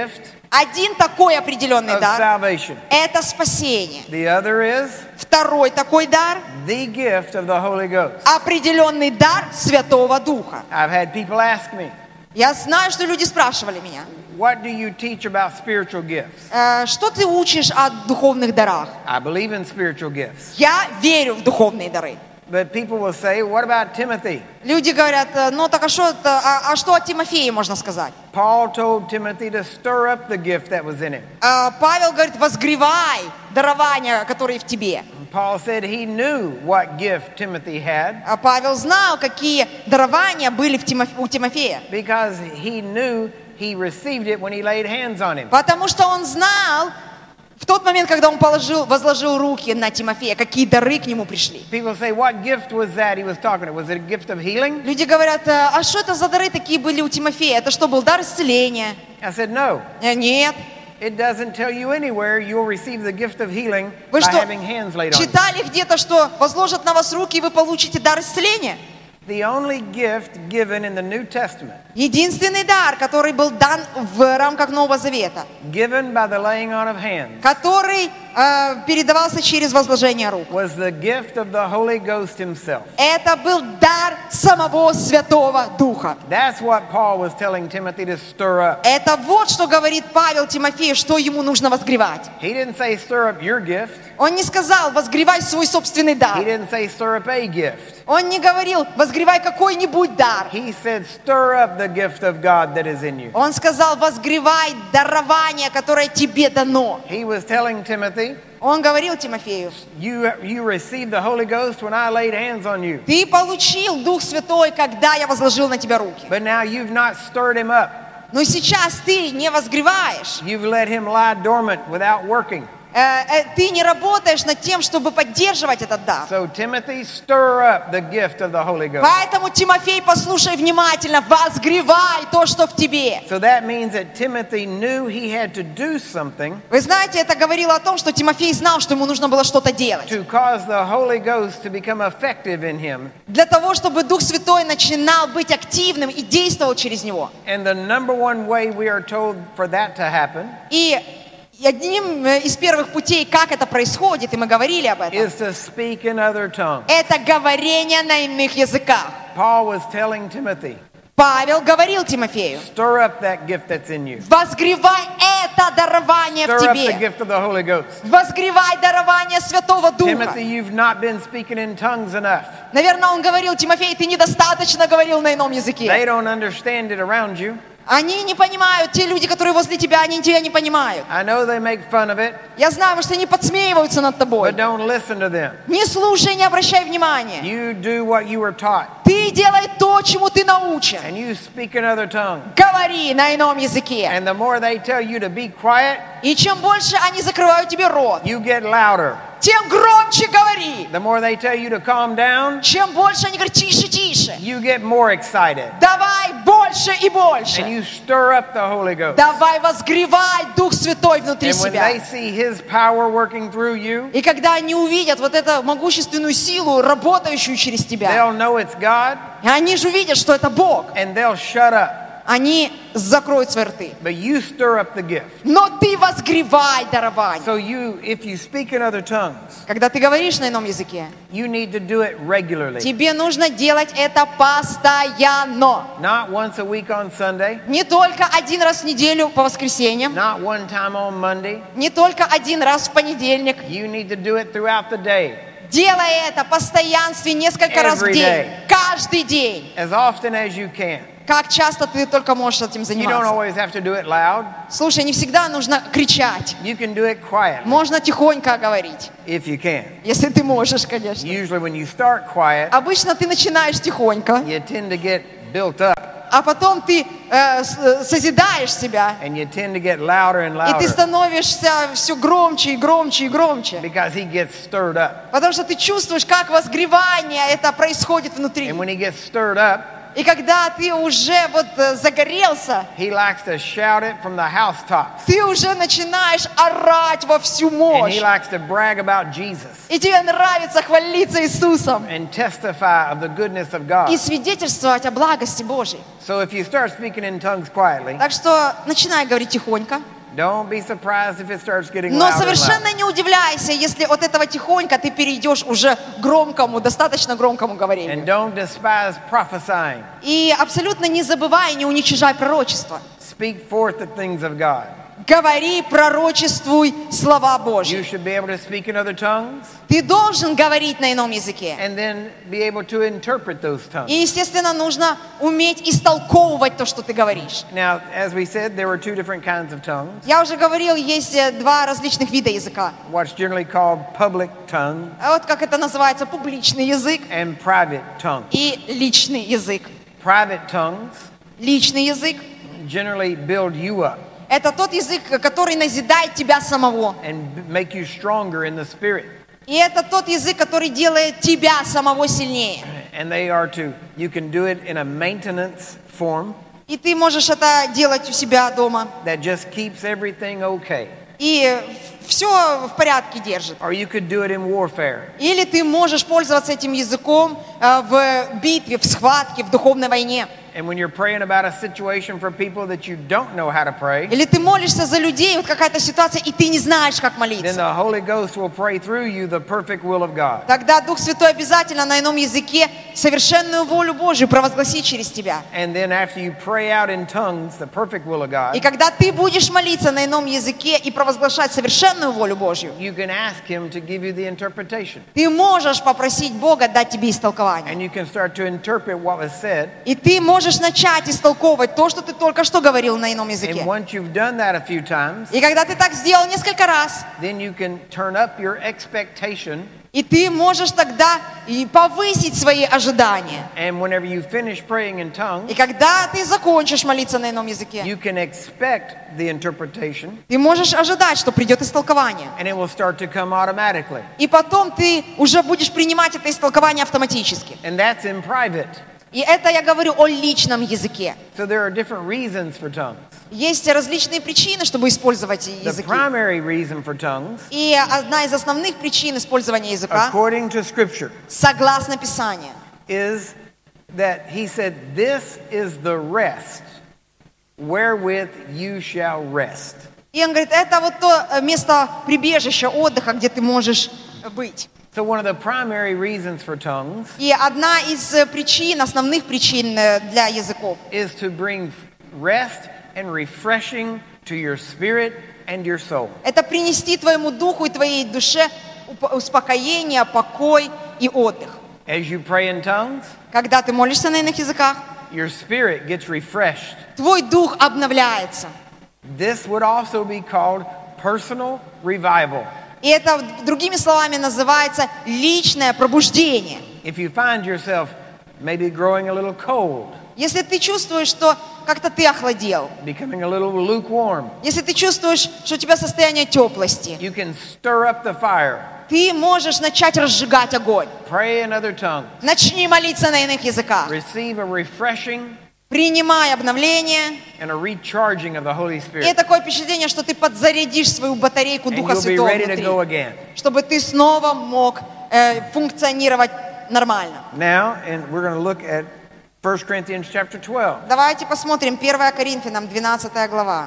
Один такой определенный of дар salvation. – это спасение. The other is Второй такой дар the gift of the Holy Ghost. – определенный дар Святого Духа. I've had people ask me, Я знаю, что люди спрашивали меня, what do you teach about spiritual gifts? «Э, что ты учишь о духовных дарах? I believe in spiritual gifts. Я верю в духовные дары. But people will say, what about Timothy? Люди говорят, «Э, ну так а что, это, а, а что о Тимофее можно сказать? Paul told Timothy to stir up the gift that was in him. А Павел говорит, возгревай дарования, которые в тебе. Paul said he knew what gift Timothy had А Павел знал, какие дарования были в Тимофе- у Тимофея. because he knew he received it when he laid hands on him. Потому что он знал, в тот момент, когда он положил, возложил руки на Тимофея, какие дары к нему пришли. People say, what gift was that he was talking about? Was it a gift of healing? Люди говорят, а что это за дары такие были у Тимофея? Это что, был дар исцеления? I said, no. Э, Нет. It doesn't tell you anywhere you'll receive the gift of healing Вы by что, having hands laid on you. читали где-то, что возложат на вас руки, и вы получите дар исцеления? The only gift given in the New Testament, Единственный дар, который был дан в рамках Нового Завета, given by the laying on of hands, который э, передавался через возложение рук. was the gift of the Holy Ghost himself. Это был дар самого Святого Духа. That's what Paul was telling Timothy to stir up. Это вот что говорит Павел Тимофею, что ему нужно возгревать. He didn't say stir up your gift. Он не сказал, возгревай свой собственный He дар. didn't say stir up a gift. Он не говорил, возгревай какой-нибудь дар. He said stir up the gift of God that is in you. Он сказал, возгревай дарование, которое тебе дано. He was telling Timothy, Он говорил Тимофею, you, you received the Holy Ghost when I laid hands on you. ты получил Дух Святой, когда я возложил на тебя руки. But now you've not stirred him up. Но сейчас ты не возгреваешь. You've let him lie dormant without working. Э, э, Ты не работаешь над тем, чтобы поддерживать этот дар. So Timothy, stir up the gift of the Holy Ghost. Поэтому, Тимофей, послушай внимательно, возгревай то, что в тебе. So that means that Timothy knew he had to do something Вы знаете, это говорило о том, что Тимофей знал, что ему нужно было что-то делать. to cause the Holy Ghost to become effective in him. Для того, чтобы Дух Святой начинал быть активным и действовал через него. And the number one way we are told for that to happen И одним из первых путей, как это происходит, и мы говорили об этом, is to speak in other tongues. это говорение на иных языках. Paul was telling Timothy, Павел говорил Тимофею, stir up that gift that's in you. возгревай это дарование в Stir up the тебе. gift of the Holy Ghost. Возгревай дарование Святого Духа. Timothy, you've not been speaking in tongues enough. Наверное, он говорил, Тимофей, ты недостаточно говорил на ином They языке. don't understand it around you. Они не понимают, те люди, которые возле тебя, они тебя не понимают. I know they make fun of it, Я знаю, потому что они подсмеиваются над тобой. but don't listen to them. Не слушай, не обращай внимания. You do what you were taught, Ты делай то, чему ты научен. and you speak in other tongues. Говори на ином языке. And the more they tell you to be quiet, И чем больше они закрывают тебе рот, you get louder. тем громче говори. The more they tell you to calm down, Чем больше они говорят, тише, тише. you get more excited. Давай больше и And больше. you stir up the Holy Ghost. Давай возгревай Дух Святой внутри And when себя. they see His power working through you, И когда они увидят вот эту могущественную силу, работающую через тебя, they'll know it's God, и они же увидят, что это Бог, and they'll shut up. они закроют свои рты. But you stir up the gift. Но ты возгревай дарование. So you, if you speak in other tongues, Когда ты говоришь на ином языке, you need to do it regularly. тебе нужно делать это постоянно. Not once a week on Sunday, Не только один раз в неделю по воскресеньям, not one time on Monday. не только один раз в понедельник. You need to do it throughout the day, Делай это в постоянстве несколько раз в Every день. day. Каждый день. as often as you can. Как часто ты только можешь этим You don't заниматься. always have to do it loud. Слушай, не всегда нужно кричать. You can do it quietly, Можно тихонько говорить. if you can. Если ты можешь, конечно. Usually when you start quiet, Обычно ты начинаешь тихонько, you tend to get built up, а потом ты э, с- созидаешь себя. and you tend to get louder and И ты louder, становишься все громче и громче и громче. because he gets stirred up. Потому что ты чувствуешь, как возгревание это происходит внутри. And when he gets stirred up, И когда ты уже вот э, загорелся, he likes to shout it from the housetops. ты уже начинаешь орать во всю And мощь. he likes to brag about Jesus И тебе нравится хвалиться Иисусом and testify of the goodness of и God. свидетельствовать о благости Божьей. So if you start speaking in tongues quietly, Так что начинай говорить тихонько. Don't be surprised if it starts getting Но louder and совершенно louder. не удивляйся, если от этого тихонько ты перейдешь уже к громкому, достаточно громкому And говорению. don't despise prophesying. И абсолютно не забывай, не уничижай пророчество. Speak forth the things of God. Говори, пророчествуй слова You Божьи. should be able to speak in other tongues Ты должен говорить на ином языке. and then be able to interpret those tongues. И, естественно, нужно уметь истолковывать то, что ты говоришь. Now, as we said, there were two different kinds of tongues. Я уже говорил, есть э, два различных вида языка. What's generally called public tongue А вот как это называется, публичный язык and private tongue. и личный язык. Private tongues Личный язык generally build you up – это тот язык, который назидает тебя самого. and b- make you stronger in the spirit. И это тот язык, который делает тебя самого сильнее. And they are to, you can do it in a maintenance form И ты можешь это делать у себя дома. that just keeps everything okay. И все в порядке держит. Or you could do it in warfare. Или ты можешь пользоваться этим языком э, в битве, в схватке, в духовной войне. And when you're praying about a situation for people that you don't know how to pray, Или ты молишься за людей, вот какая-то ситуация, и ты не знаешь, как then молиться. the Holy Ghost will pray through you the perfect will of God. Тогда Дух Святой обязательно на ином языке совершенную волю Божию провозгласит через тебя. And then after you pray out in tongues the perfect will of И God, когда ты будешь молиться на ином языке и провозглашать совершенную волю Божью, you can ask Him to give you the interpretation. ты можешь попросить Бога дать тебе истолкование. And you can start to interpret what was said. И ты можешь начать истолковывать то, что ты только что говорил на ином And языке. once you've done that a few times, И когда ты так сделал несколько раз, then you can turn up your expectation. и ты можешь тогда и повысить свои ожидания. And whenever you finish praying in И tongues, когда ты закончишь молиться на ином языке, you can expect the interpretation, ты можешь ожидать, что придет истолкование. and it will start to come automatically. И потом ты уже будешь принимать это истолкование автоматически. And that's in private. И это я говорю о личном языке. So there are different reasons for tongues. Есть различные причины, чтобы использовать The языки. primary reason for tongues, И одна из основных причин использования языка, according to Scripture, согласно Писанию, is that He said, "This is the rest wherewith you shall rest." и он говорит, это вот то э, место прибежища, отдыха, где ты можешь быть. So one of the primary reasons for tongues И одна из э, причин, основных причин э, для языков, is to bring rest and refreshing to your spirit and your soul. это принести твоему духу и твоей душе уп- успокоение, покой и отдых. As you pray in tongues, Когда ты молишься на иных языках, your spirit gets refreshed. твой дух обновляется. This would also be called personal revival. И это, другими словами, называется личное пробуждение. If you find yourself maybe growing a little cold, Если ты чувствуешь, что как-то ты охладел, becoming a little lukewarm, если ты чувствуешь, что у тебя состояние теплости, you can stir up the fire. ты можешь начать разжигать огонь. Pray in other tongues. Начни молиться на иных языках. Receive a refreshing Принимай обновление. and a recharging of the Holy И Spirit. такое впечатление, что ты подзарядишь свою батарейку And Духа you'll be Святого ready to go внутри, again. чтобы ты снова мог э, функционировать нормально. Now, and we're going to look at First Corinthians chapter twelve, Давайте посмотрим первое Коринфянам, двенадцатая глава.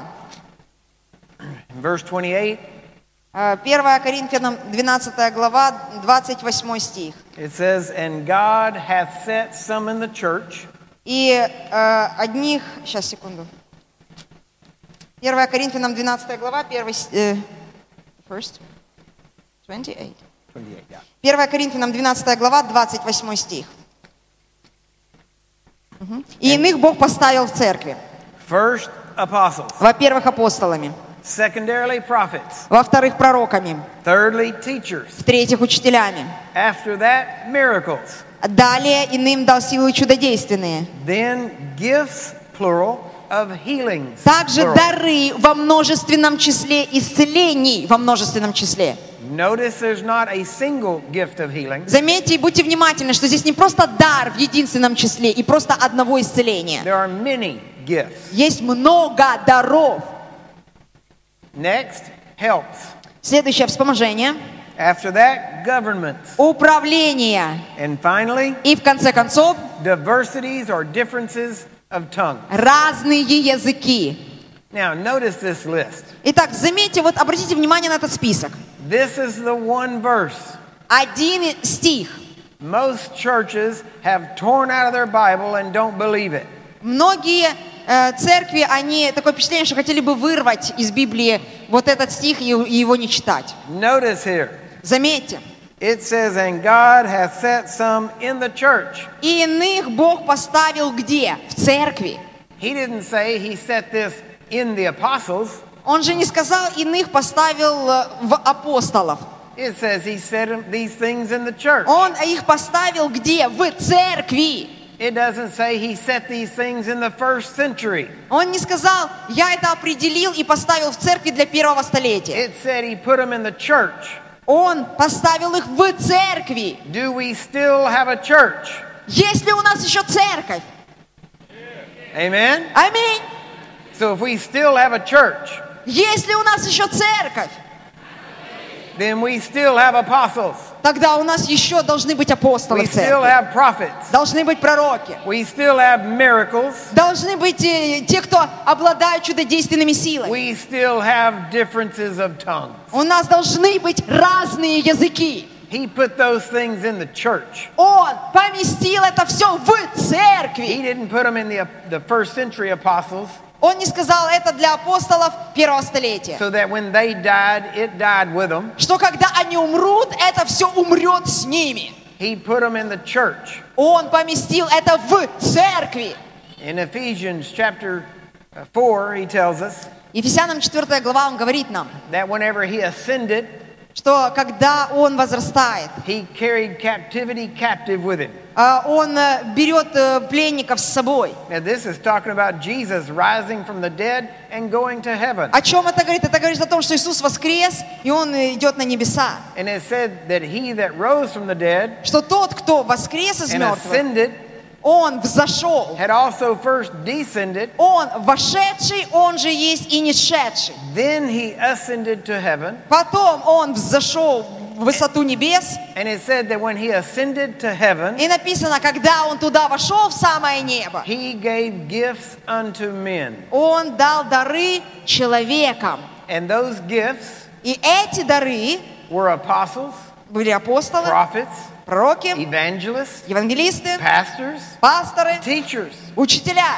verse twenty-eight. Э, первое Коринфянам, двенадцатая глава, двадцать восьмой стих. It says, "And God hath set some in the church И э, одних... Сейчас, секунду. первое Коринфянам, двенадцатая глава, первый... с- э, first? twenty-eight. twenty-eight, yeah. первое Коринфянам, двенадцатая глава, двадцать восьмой стих. Мгм. «И иных Бог поставил в церкви. First, apostles. Во-первых, апостолами. Secondarily, prophets. Во-вторых, пророками. Thirdly, teachers. В-третьих, учителями. After that, miracles. Далее иным дал силы чудодейственные. Then, gifts, plural, of healings. Также plural. дары во множественном числе, исцелений во множественном числе». Notice there's not a single gift of healing. Заметьте и будьте внимательны, что здесь не просто дар в единственном числе и просто одного исцеления. There are many gifts. Есть много даров. Next, helps. Следующее — вспоможение, After that, governments. управление And finally, и, в конце концов, diversities or differences of tongues. разные языки. Now, notice this list. Итак, заметьте, вот обратите внимание на этот список. This is the one verse. Один стих. Most churches have torn out of their Bible and don't believe it. Многие э, церкви, они такое впечатление, что хотели бы вырвать из Библии вот этот стих и, и его не читать. Notice here. Заметьте. It says, and God hath set some in the church. И иных Бог поставил где? В церкви. He didn't say he set this in the apostles. Он же не сказал, иных поставил э, в апостолов. It says he set these things in the church. Он их поставил где? В церкви. It doesn't say he set these things in the first century. Он не сказал, я это определил и поставил в церкви для первого столетия. It said he put them in the church. Он поставил их в церкви. Do we still have a church? Есть ли у нас еще церковь? Amen? Аминь. So if we still have a church, Есть ли у нас еще церковь? then we still have apostles. Тогда у нас еще должны быть апостолы We в still церкви. have prophets. Должны быть пророки. We still have miracles. Должны быть э, те, кто обладают чудодейственными силами. We still have differences of tongues. У нас должны быть разные языки. He put those things in the church. Он поместил это все в He церкви. didn't put them in the, the first century apostles Он не сказал это для апостолов первого столетия. so that when they died, it died with them. Что когда они умрут, это все умрет с ними. He put them in the church. Он поместил это в церкви. In Ephesians chapter four, he tells us Ефесянам четвёртая глава, он говорит нам, that whenever he ascended, что когда он возрастает, he carried captivity captive with him. а, он э, берет э, пленников с собой. Now, this is talking about Jesus rising from the dead and going to heaven. О чем это говорит? Это говорит о том, что Иисус воскрес, и Он идет на небеса. And it said that he that rose from the dead Что тот, кто воскрес из and мертвых, ascended Он взошел. had also first descended, Он вошедший, Он же есть и не шедший. then he ascended to heaven. Потом Он взошел в высоту небес. And it said that when he ascended to heaven, И написано, когда Он туда вошел, в самое небо, he gave gifts unto men. Он дал дары человекам. And those gifts И эти дары were apostles, были апостолы, prophets, пророки, evangelists, евангелисты, pastors, пасторы, teachers. учителя.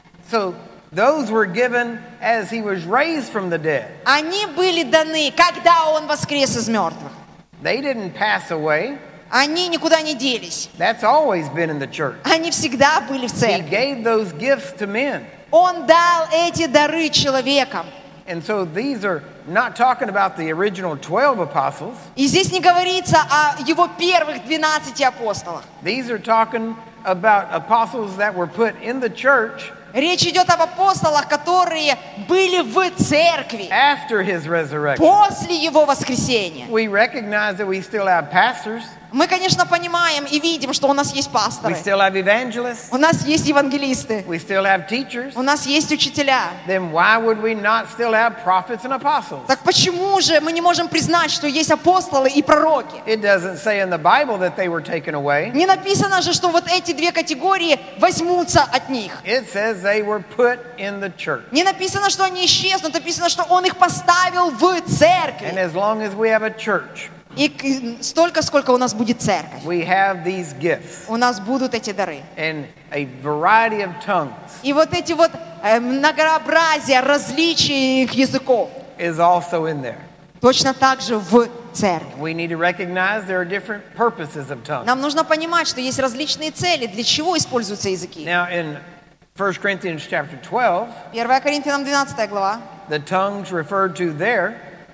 So those were given as he was raised from the dead. Они были даны, когда Он воскрес из мертвых. They didn't pass away. Они никуда не делись. That's always been in the church. Они всегда были в He церкви. gave those gifts to men. Он дал эти дары человекам. And so these are not talking about the original twelve apostles. И здесь не говорится о его первых двенадцати апостолах. These are talking about apostles that were put in the church Речь идет об апостолах, которые были в церкви after his resurrection. после его воскресения. We recognize that we still have pastors. Мы, конечно, понимаем и видим, что у нас есть We пасторы, still have evangelists. у нас есть евангелисты, We still have teachers. у нас есть учителя. Then why would we not still have prophets and apostles? Так почему же мы не можем признать, что есть апостолы и пророки? It doesn't say in the Bible that they were taken away. Не написано же, что вот эти две категории возьмутся от них. It says they were put in the church. Не написано, что они исчезнут, написано, что Он их поставил в And церкви. as long as we have a church, И к- столько, сколько у нас будет церковь, we have these gifts у нас будут эти дары. and a variety of tongues И вот эти вот э, многообразие различий их языков is also in there. точно так же в церкви. We need to recognize there are different purposes of tongues. Нам нужно понимать, что есть различные цели, для чего используются языки. Now in First Corinthians chapter twelve, первое Коринфянам двенадцатая глава. the tongues referred to there,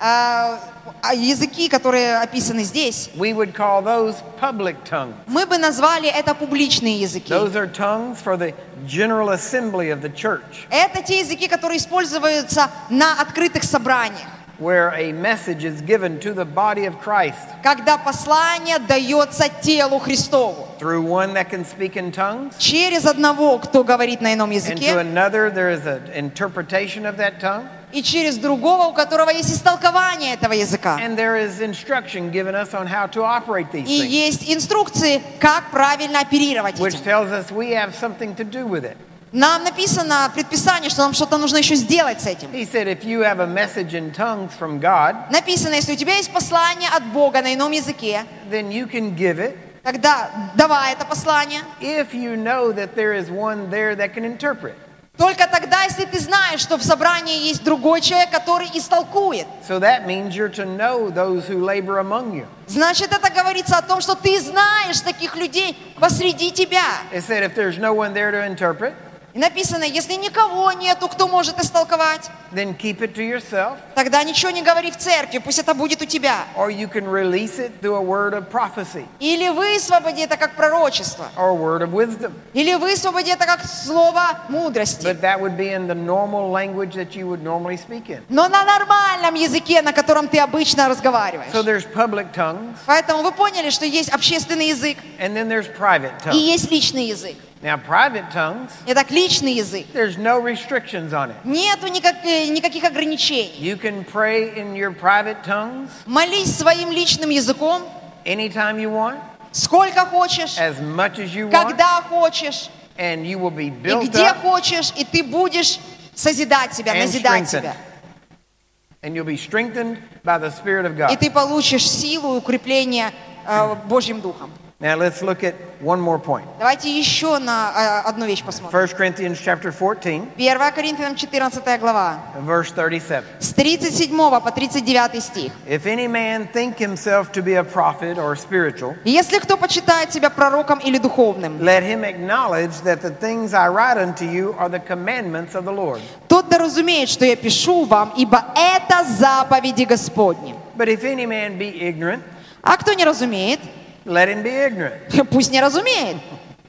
А, а языки, которые описаны здесь, we would call those public tongues. мы бы назвали это публичные языки. Those are tongues for the general assembly of the church, Это те языки, которые используются на открытых собраниях, where a message is given to the body of Christ когда послание дается телу Христову. through one that can speak in tongues, Через одного, кто говорит на ином and to языке, another there is an interpretation of that tongue, и через другого, у которого есть истолкование этого языка. and there is instruction given us on how to operate these И things, есть инструкции, как правильно оперировать which этим. tells us we have something to do with it. Нам написано предписание, что нам что-то нужно еще сделать с этим. He said, if you have a message in tongues from God, Написано, если у тебя есть послание от Бога на ином языке, then you can give it тогда давай это послание. if you know that there is one there that can interpret. Только тогда, если ты знаешь, что в собрании есть другой человек, который истолкует. So that means you're to know those who labor among you. Значит, это говорится о том, что ты знаешь таких людей посреди тебя. It said, if there's no one there to interpret, И написано, если никого нету, кто может истолковать, then keep it to yourself, тогда ничего не говори в церкви, пусть это будет у тебя. or you can release it through a word of prophecy Или высвободи это как пророчество. or a word of wisdom. Или высвободи это как слово мудрости. But that would be in the normal language that you would normally speak in. Но на нормальном языке, на котором ты обычно разговариваешь. So there's public tongues, Поэтому вы поняли, что есть общественный язык and then there's private и tongues. есть личный язык. Now, private tongues, Итак, личный язык. there's no restrictions on it. Нету никак- никаких ограничений. You can pray in your private tongues Молись своим личным языком, anytime you want, сколько хочешь, as much as you want, когда хочешь, and you will be и built где up хочешь, и ты будешь созидать себя, and назидать strengthened. себя. And you'll be strengthened by the Spirit of И God. ты получишь силу и укрепление э, Божьим Духом. Now, let's look at one more point. Давайте еще на э, одну вещь посмотрим. First Corinthians chapter fourteen, первое Коринфянам четырнадцатая глава, verse thirty-seven. с тридцать седьмого по тридцать девятый стих. If any man think himself to be a prophet or spiritual, Если кто почитает себя пророком или духовным, let him acknowledge that the things I write unto you are the commandments of the Lord. тот да разумеет, что я пишу вам, ибо это заповеди Господни. But if any man be ignorant, А кто не разумеет, let him be ignorant. пусть не разумеет.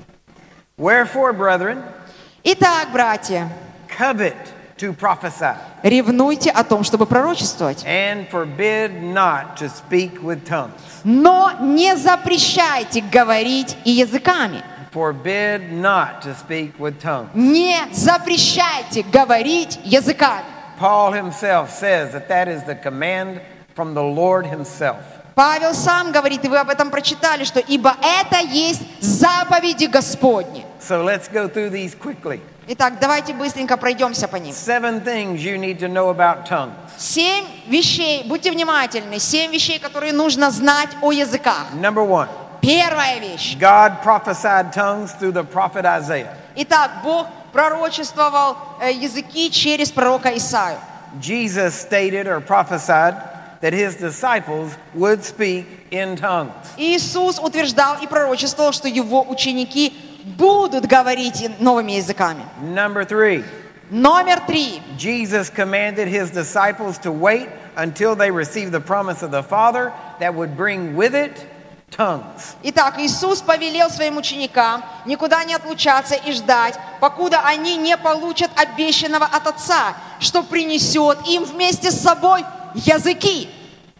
Wherefore, brethren, Итак, братья, covet to prophesy, ревнуйте о том, чтобы пророчествовать. and forbid not to speak with tongues. Но не запрещайте говорить и языками. Forbid not to speak with tongues. Не запрещайте говорить языками. Paul himself says that that is the command from the Lord himself. Павел сам говорит, и вы об этом прочитали, что ибо это есть заповеди Господни. So let's go through these quickly. Итак, давайте быстренько пройдемся по ним. Seven things you need to know about tongues. Семь вещей, будьте внимательны, семь вещей, которые нужно знать о языках. Number one, Первая вещь. God prophesied tongues through the prophet Isaiah. Итак, Бог пророчествовал э, языки через пророка Исаию. Jesus stated or prophesied that his disciples would speak in tongues. Иисус утверждал и пророчествовал, что его ученики будут говорить новыми языками. Number three, Номер три. Jesus commanded his disciples to wait until they received the promise of the Father that would bring with it tongues. Итак, Иисус повелел своим ученикам никуда не отлучаться и ждать, покуда они не получат обещанного от Отца, что принесет им вместе с собой языки.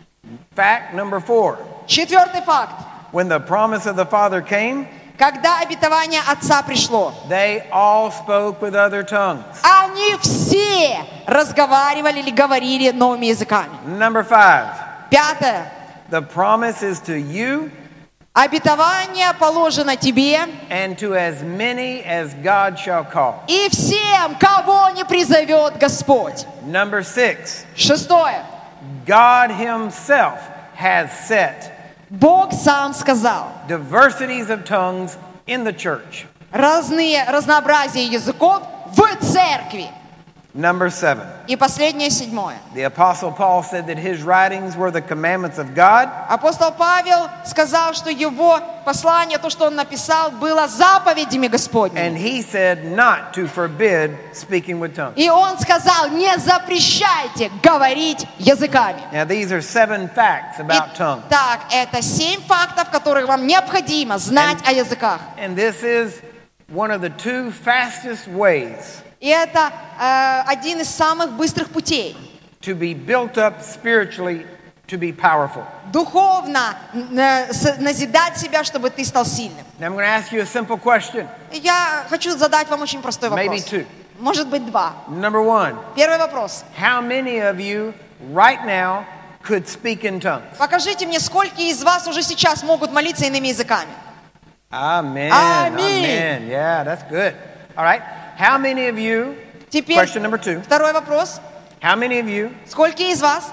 Fact number four, Четвертый факт. when the promise of the Father came, Когда обетование Отца пришло, they all spoke with other tongues. они все разговаривали или говорили новыми языками. Number five, Пятое. the promise is to you Обетование положено тебе and to as many as God shall call. и всем, кого не призовет Господь. Number six, Шестое. God himself has set Бог сам сказал, diversities of tongues in the church. разные, разнообразие языков в церкви. Number seven, И последнее, седьмое. the Apostle Paul said that his writings were the commandments of God, Апостол Павел сказал, что его послание, то, что он написал, было заповедями Господними. and he said not to forbid speaking with tongues. И он сказал, не запрещайте говорить языками. Now, these are seven facts about tongues. Итак, это семь фактов, которые вам необходимо знать о языках. And this is one of the two fastest ways И это э, один из самых быстрых путей. to be built up spiritually to be powerful. Духовно э, с- назидать себя, чтобы ты стал сильным. Now, I'm going to ask you a simple question. Я хочу задать вам очень простой Maybe вопрос. two. Может быть, два. Number one, Первый вопрос. how many of you right now could speak in tongues? Покажите мне, сколько из вас уже сейчас могут молиться иными языками. Amen. Amen. Amen. Yeah, that's good. All right. how many of you, Теперь question number two, второй вопрос. how many of you Сколько из вас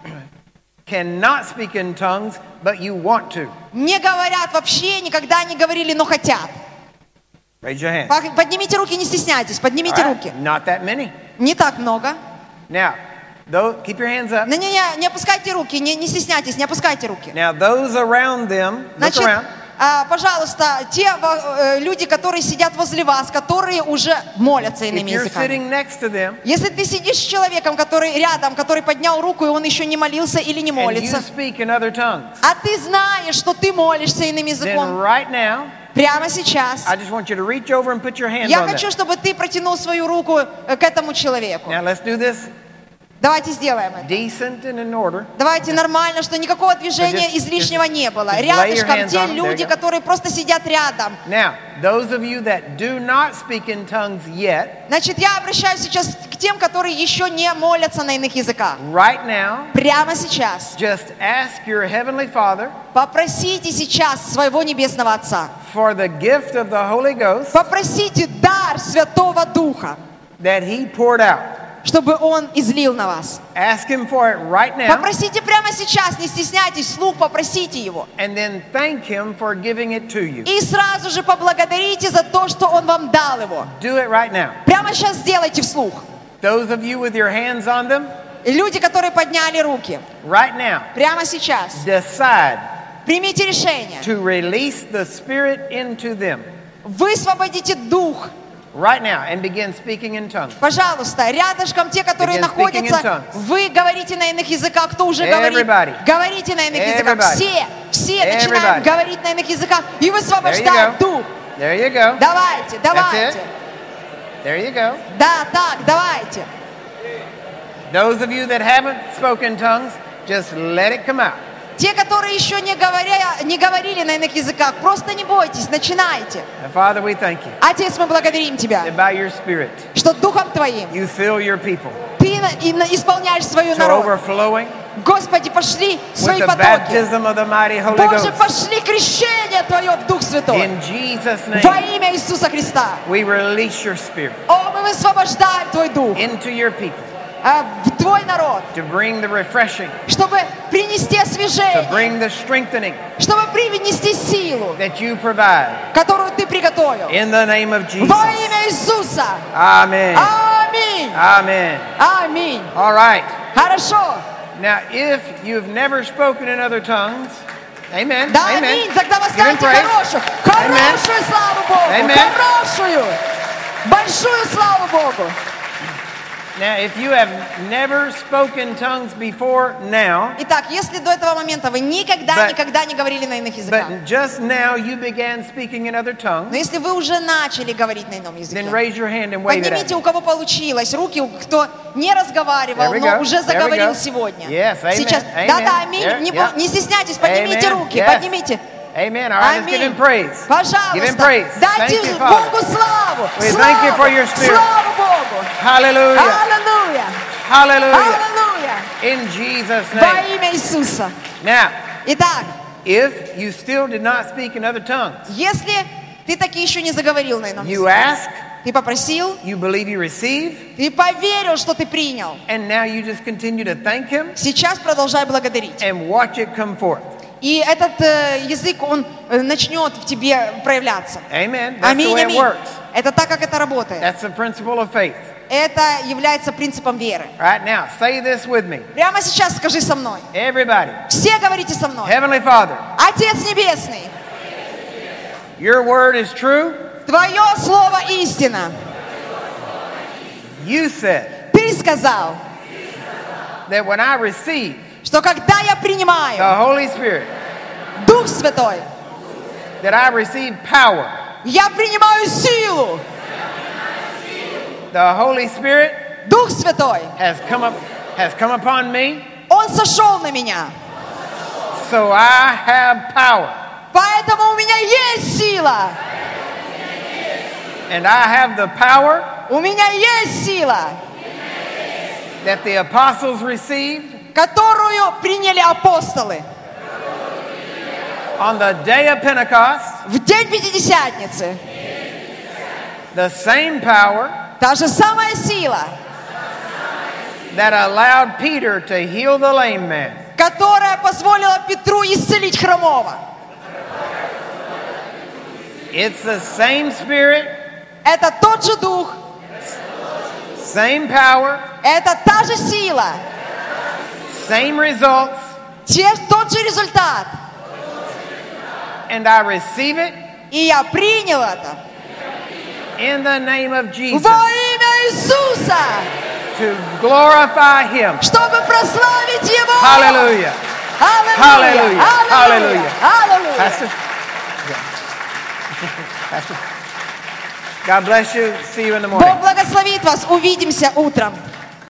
cannot speak in tongues, but you want to? не говорят вообще, никогда не говорили, но хотят? Raise your hand. Пох- Поднимите руки, не стесняйтесь, поднимите All руки. right, not that many. Не так много. Now, those, keep your hands up. Не-не-не, не опускайте руки, не, не стесняйтесь, не опускайте руки. Now, those around them, look Значит, around. а, пожалуйста, те э, люди, которые сидят возле вас, которые уже молятся If иными you're языками. sitting next to them Если ты сидишь с человеком, который рядом, который поднял руку, и он еще не молился или не and you молится, speak in other tongues, а ты знаешь, что ты молишься иным then языком, right now, прямо сейчас, I just want you to reach over and put your hand я on хочу, them. чтобы ты протянул свою руку э, к этому человеку. Now, let's do this Давайте сделаем это. decent and in order. Давайте нормально, что никакого движения just- излишнего не было. just lay your Рядышком hands те on 'em. There люди, you go. которые просто сидят рядом. Now, those of you that do not speak in tongues yet, Значит, я обращаюсь сейчас к тем, которые еще не молятся на иных языках. right now, Прямо сейчас. just ask your Heavenly Father Попросите сейчас своего Небесного Отца. for the gift of the Holy Ghost Попросите дар Святого Духа, that He poured out. чтобы Он излил на вас. Ask Him for it right now, Попросите прямо сейчас, не стесняйтесь, вслух попросите Его. and then thank Him for giving it to you. И сразу же поблагодарите за то, что Он вам дал его. Do it right now. Прямо сейчас сделайте вслух. Those of you with your hands on them, И люди, которые подняли руки, right now, прямо сейчас, decide примите решение. to release the Spirit into them Высвободите Дух. right now and begin speaking in tongues. Пожалуйста, рядышком те, которые Begin speaking in находятся, tongues. вы говорите на иных языках, кто уже Everybody. говорит, говорите на иных языках. Everybody. Все, все Everybody. начинают говорить на иных языках и There you высвобождают go. Дух. There you go. Давайте, давайте. There you go. Да, так, давайте. Those of you that haven't spoken tongues, just let it come out. Те, которые еще не, говоря, не говорили на иных языках, просто не бойтесь, начинайте. And Father, we thank you Отец, мы благодарим Тебя, that by your Spirit, что Духом Твоим you fill your people Ты на- и на- исполняешь свою to народ. overflowing Господи, пошли with свои the потоки. baptism of the mighty Holy Боже, Ghost. пошли крещение Твое в Дух Святой. In Jesus' Во name, имя Иисуса Христа. we release your Spirit О, мы высвобождаем Твой Дух into your people а, в Твой народ, to bring the refreshing, чтобы принести to освежение, bring the strengthening чтобы принести силу, that you provide. которую Ты приготовил. In the name of Jesus. Во имя Иисуса. Amen. Аминь. Amen. Аминь. All right. Хорошо. Now, if you've never spoken in other tongues, amen. Да, Amen. аминь. Тогда вы Give him ставите praise. хорошую, Amen. хорошую славу Богу. Amen. Хорошую. Большую славу Богу. Now, if you have never spoken tongues before now, Итак, если до этого момента вы никогда, But- никогда не говорили на иных языках, but just now you began speaking in other tongues, но если вы уже начали говорить на ином then языке, raise your hand and wave it at поднимите, me. у кого получилось, руки, у- кто не разговаривал, There we но go. уже There we заговорил go. сегодня. Yes, amen. Сейчас. Amen. Да-да, аминь. There, Не, yeah. бо- не стесняйтесь, поднимите Amen. руки, Yes. поднимите. Amen. All right, let's give him praise. Give him Пожалуйста, praise. дайте Thank you, Богу Father. славу. We Славу. thank you for your spirit. Славу Богу. Hallelujah. Аллилуйя. Hallelujah. Аллилуйя. In Jesus' Во name. имя Иисуса. Now, Итак, if you still did not speak in other tongues, если ты таки еще не заговорил на ином you языке, ask, ты попросил, you believe you receive, ты поверил, что ты принял, and now you just continue to thank Him сейчас продолжай благодарить. and watch it come forth. И этот э, язык, он э, начнет в тебе проявляться. Amen. That's the Аминь, way it аминь. works. Это так, как это работает. That's the principle of faith. Это является принципом веры. Right now, say this with me. Прямо сейчас скажи со мной. Everybody. Все говорите со мной. Heavenly Father, Отец Небесный, your word is true. Твое слово истина. You said Ты сказал, that when I receive что когда я принимаю the Holy Spirit, Дух Святой, that I receive power. я принимаю силу. The Holy Spirit Дух Святой, has come up, has come upon me, Он сошел на меня. so I have power, Поэтому у меня есть сила. and I have the power У меня есть сила, that the apostles received которую приняли апостолы on the day of Pentecost, в день Пятидесятницы. The same power Та же самая сила, that allowed Peter to heal the lame man которая позволила Петру исцелить хромого. it's the same spirit, Это тот же дух, same power, это та же сила, same results, те, тот же результат. and I receive it И я принял это in the name of Jesus во имя Иисуса, to glorify Him. чтобы прославить Его. Hallelujah. Аллилуйя! Hallelujah. Аллилуйя! Аллилуйя! Pastor? Yeah. Pastor? God bless you. See you in the morning. Бог благословит вас. Увидимся утром.